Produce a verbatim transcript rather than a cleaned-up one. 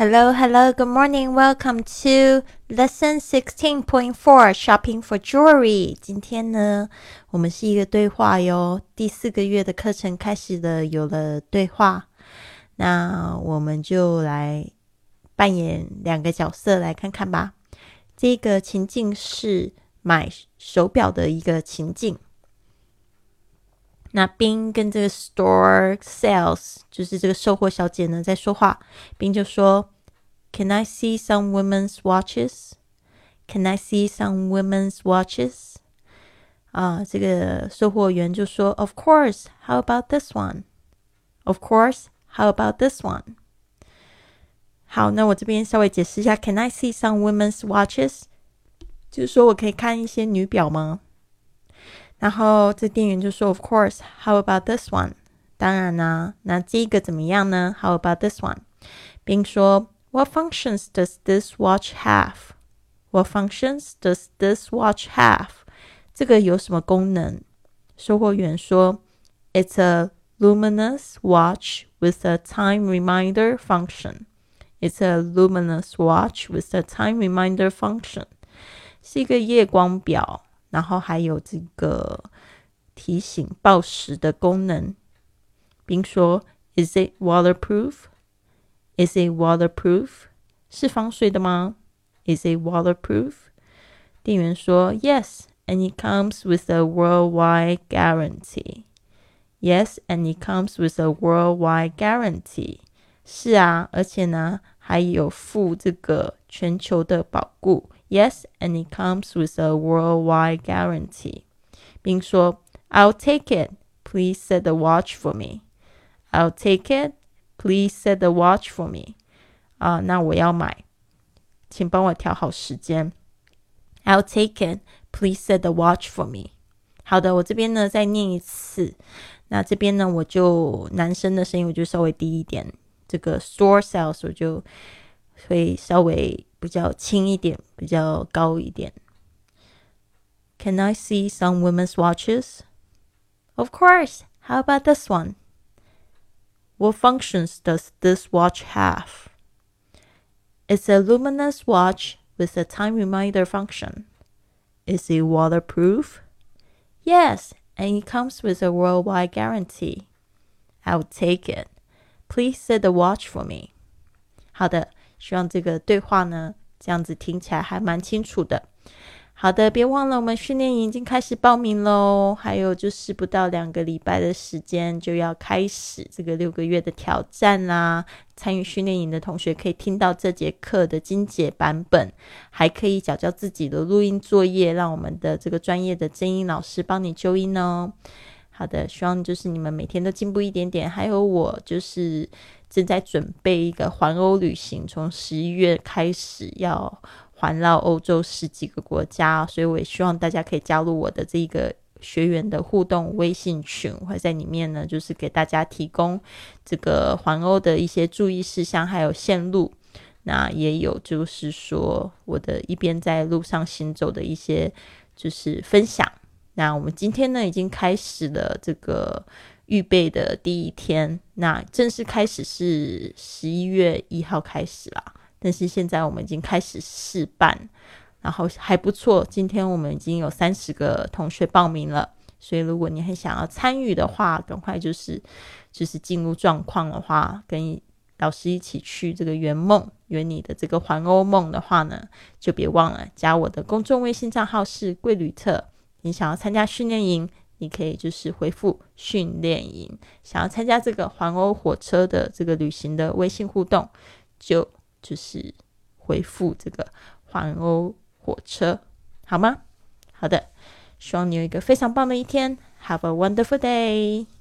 Hello, hello, good morning. Welcome to lesson sixteen point four, shopping for jewelry. 今天呢，我们是一个对话哟。第四个月的课程开始了，有了对话。那我们就来扮演两个角色来看看吧。这个情境是买手表的一个情境。那宾跟这个 store sales 就是这个售货小姐呢在说话，宾就说 Can I see some women's watches? Can I see some women's watches? 啊，这个售货员就说 Of course, how about this one? Of course, how about this one? 好，那我这边稍微解释一下 Can I see some women's watches? 就是说我可以看一些女表吗？然后这店员就说 Of course, how about this one? 当然啦，那这个怎么样呢？ How about this one? 并说 What functions does this watch have? What functions does this watch have? 这个有什么功能？售货员说 It's a luminous watch with a time reminder function. It's a luminous watch with a time reminder function. 是一个夜光表，然后还有这个提醒报时的功能，并说 Is it waterproof? Is it waterproof? 是防水的吗？ Is it waterproof? 店员说 Yes, and it comes with a worldwide guarantee. Yes, and it comes with a worldwide guarantee. 是啊，而且呢还有附这个全球的保固。Yes, and it comes with a worldwide guarantee. 并说 I'll take it. Please set the watch for me. I'll take it. Please set the watch for me. 啊，那我要买，请帮我调好时间。I'll take it. Please set the watch for me. 好的，我这边呢再念一次。那这边呢我就男生的声音我就稍微低一点，这个 store sales 我就会稍微比较轻一点，比较高一点。Can I see some women's watches? Of course. How about this one? What functions does this watch have? It's a luminous watch with a time reminder function. Is it waterproof? Yes, and it comes with a worldwide guarantee. I'll take it. Please set the watch for me. 好的，希望这个对话呢，这样子听起来还蛮清楚的。好的，别忘了我们训练营已经开始报名咯，还有就是不到两个礼拜的时间就要开始这个六个月的挑战啦。参与训练营的同学可以听到这节课的精简版本，还可以缴交自己的录音作业，让我们的这个专业的真音老师帮你纠音哦。好的，希望就是你们每天都进步一点点，还有我就是正在准备一个环欧旅行，从十一月开始要环绕欧洲十几个国家，所以我也希望大家可以加入我的这个学员的互动微信群，我会在里面呢就是给大家提供这个环欧的一些注意事项还有线路，那也有就是说我的一边在路上行走的一些就是分享。那我们今天呢已经开始了这个预备的第一天，那正式开始是十一月一号开始啦，但是现在我们已经开始试办，然后还不错，今天我们已经有三十个同学报名了，所以如果你很想要参与的话，赶快就是就是进入状况的话，跟老师一起去这个圆梦圆你的这个环欧梦的话呢，就别忘了加我的公众微信账号是贵旅特，你想要参加训练营你可以就是回复训练营，想要参加这个环欧火车的这个旅行的微信互动就就是回复这个环欧火车，好吗？好的，希望你有一个非常棒的一天。Have a wonderful day!